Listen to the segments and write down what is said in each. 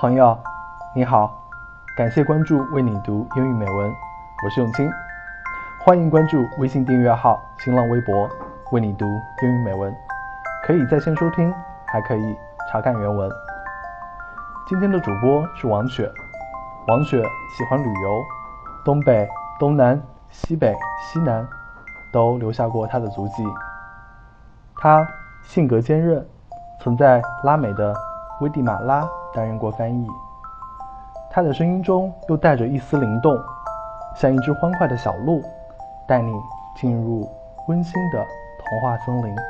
朋友，你好，感谢关注为你读英语美文，我是永清，欢迎关注微信订阅号、新浪微博为你读英语美文，可以在线收听，还可以查看原文。今天的主播是王雪，王雪喜欢旅游，东北、东南、西北、西南都留下过她的足迹。她性格坚韧，曾在拉美的危地马拉担任过翻译。她的声音中又带着一丝灵动，像一只欢快的小鹿，带你进入温馨的童话森林。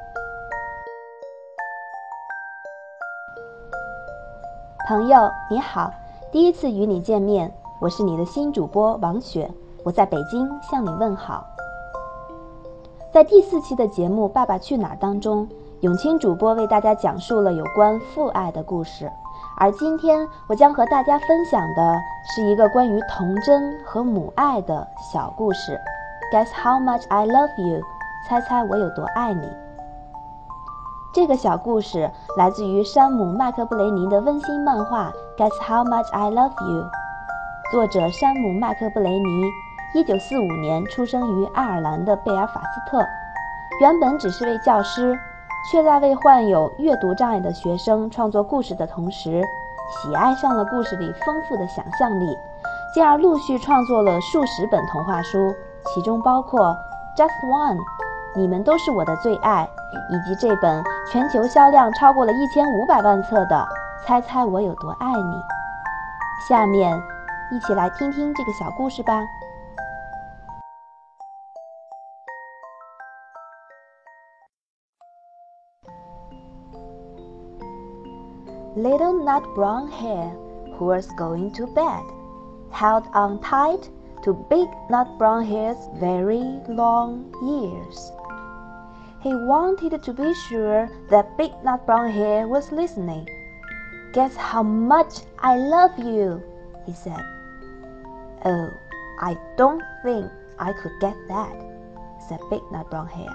朋友你好，第一次与你见面，我是你的新主播王雪，我在北京向你问好。在第4期的节目《爸爸去哪儿》当中，永清主播为大家讲述了有关父爱的故事，而今天我将和大家分享的是一个关于童真和母爱的小故事。 Guess how much I love you， 猜猜我有多爱你。这个小故事来自于山姆·麦克布雷尼的温馨漫画 Guess how much I love you， 作者山姆·麦克布雷尼1945年出生于爱尔兰的贝尔法斯特，原本只是位教师，却在为患有阅读障碍的学生创作故事的同时，喜爱上了故事里丰富的想象力，进而陆续创作了数十本童话书，其中包括 Just One， 你们都是我的最爱，以及这本全球销量超过了1500万册的猜猜我有多爱你。下面一起来听听这个小故事吧。Little nut brown hare, who was going to bed, held on tight to big nut brown hare's very long ears. He wanted to be sure that big nut brown hare was listening. Guess how much I love you, he said. Oh, I don't think I could get that, said big nut brown hare.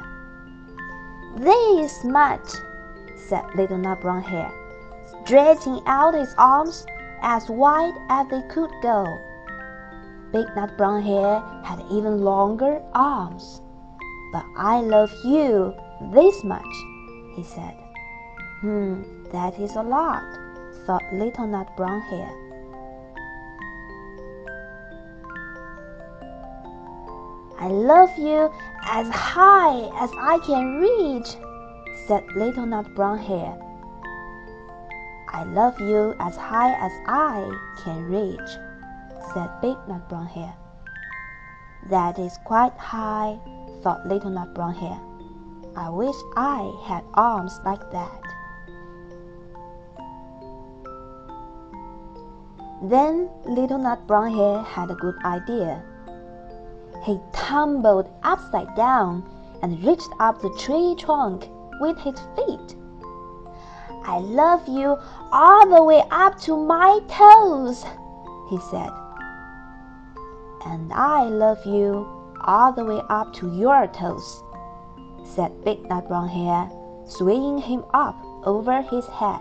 This much, said little nut brown hare, stretching out his arms as wide as they could go. Big nut brown hare had even longer arms. But I love you this much, he said. That is a lot, thought little nut brown hare. I love you as high as I can reach, said little nut brown hare. I love you as high as I can reach, said big nut brown hare. That is quite high, thought little nut brown hare. I wish I had arms like that. Then little nut brown hare had a good idea. He tumbled upside down and reached up the tree trunk with his feet. I love you all the way up to my toes, he said. And I love you all the way up to your toes, said big nut brown hare, swinging him up over his head.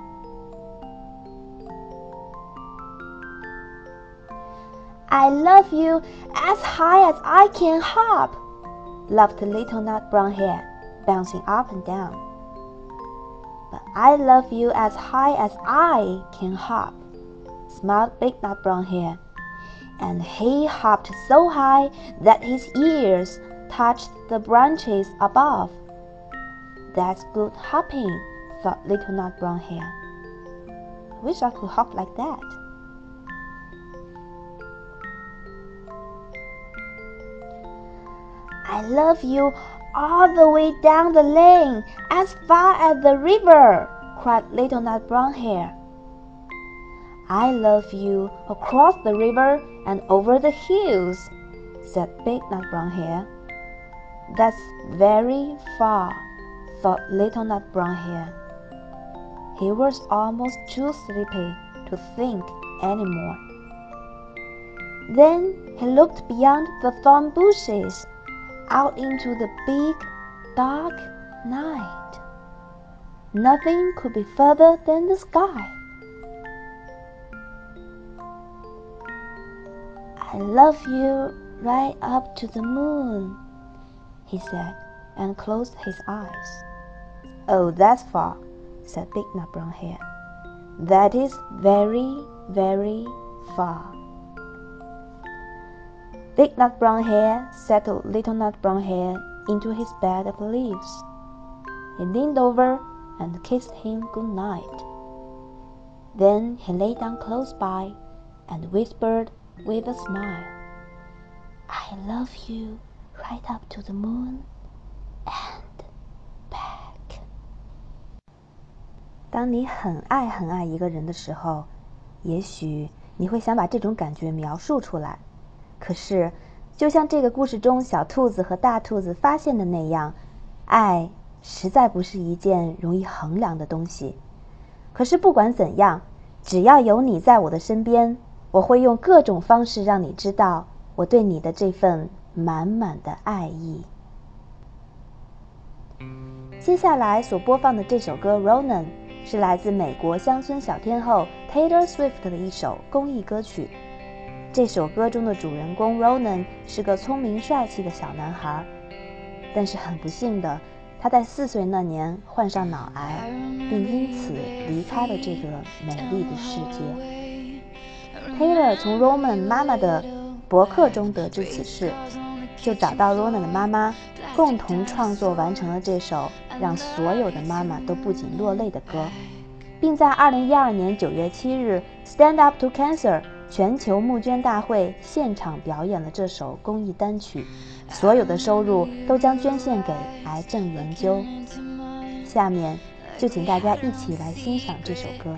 I love you as high as I can hop, laughed little nut brown hare, bouncing up and down. But I love you as high as I can hop, smiled big nut brown hare, and he hopped so high that his ears touched the branches above. That's good hopping, thought little nut brown hare. I wish I could hop like that. I love you all the way down the lane, as far as the river, cried little nut brown hare. I love you across the river and over the hills, said big nut brown hare. That's very far, thought little nut brown hare. He was almost too sleepy to think any more. Then he looked beyond the thorn bushes, out into the big, dark night. Nothing could be further than the sky. I love you right up to the moon, he said, and closed his eyes. Oh, that's far, said Big Nut Brown Hair. That is very, very far. Big Nut Brown Hair settled Little Nut Brown Hair into his bed of leaves. He leaned over and kissed him good night. Then he lay down close by and whispered with a smile, I love you right up to the moon and back. 当你很爱很爱一个人的时候，也许你会想把这种感觉描述出来。可是，就像这个故事中小兔子和大兔子发现的那样，爱实在不是一件容易衡量的东西。可是不管怎样，只要有你在我的身边，我会用各种方式让你知道我对你的这份满满的爱意。接下来所播放的这首歌《Ronan》是来自美国乡村小天后 Taylor Swift 的一首公益歌曲。这首歌中的主人公 Ronan 是个聪明帅气的小男孩，但是很不幸的，他在4岁那年患上脑癌，并因此离开了这个美丽的世界。Taylor 从 Ronan 妈妈的博客中得知此事，就找到 Ronan 的妈妈，共同创作完成了这首让所有的妈妈都不禁落泪的歌，并在2012年9月7日 Stand Up to Cancer 全球募捐大会现场表演了这首公益单曲，所有的收入都将捐献给癌症研究。下面就请大家一起来欣赏这首歌。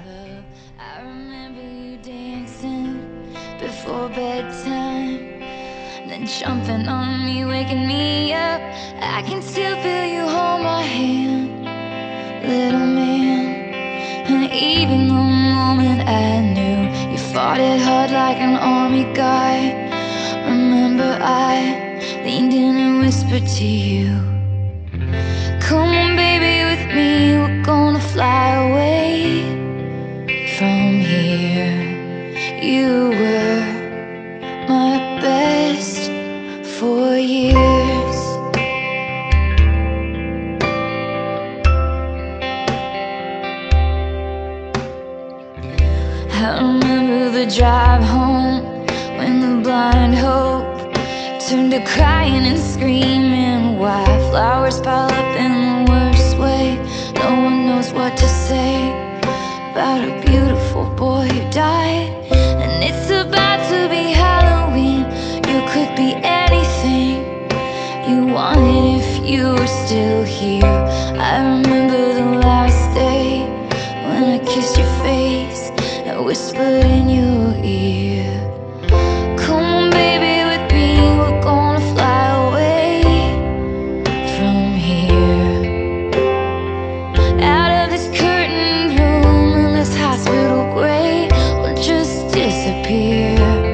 Before bedtime, then jumping on me, waking me up. I can still feel you hold my hand, little man. And even the moment I knew you fought it hard like an army guy, remember I leaned in and whispered to you, come on baby with me, we're gonna fly away from here. You were my best for years. I remember the drive home when the blind hope turned to crying and screaming. Wildflowers pile up in the worst way. No one knows what to say about a beautiful boy who died. And it's about to be Halloween. You could be anything you wanted if you were still here. I remember the last day when I kissed your face and whispered in your ear, come on baby with me, we're gonna fly away from here. Out of this curtained room in this hospital gray, we'll just disappear.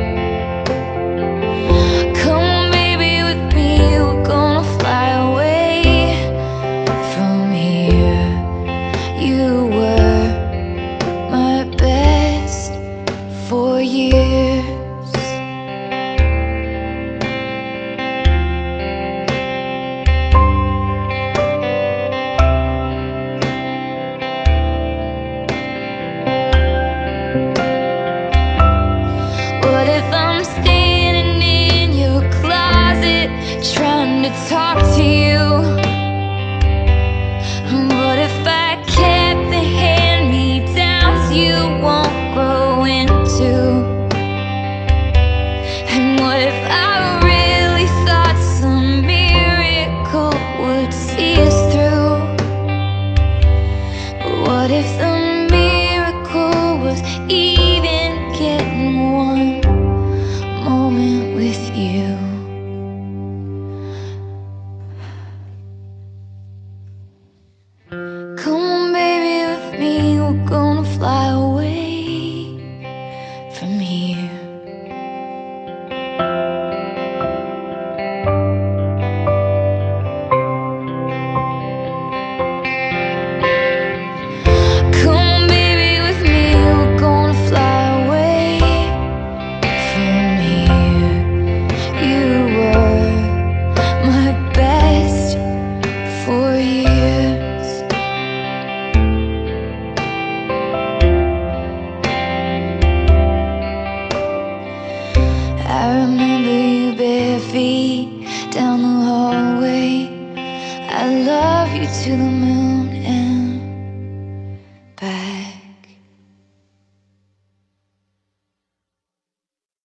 Come on baby with me, we're gonna fly away from here. You were my best for years. What if I'm standing in your closet trying to talk to you? What if I kept the hand-me-downs you won't grow into? And what if I really thought some miracle would see us through? What if the miracle was even getting one moment with you? Come on baby with me, we're gonna fly away from here. Come I remember you bare feet down the hallway. I love you to the moon.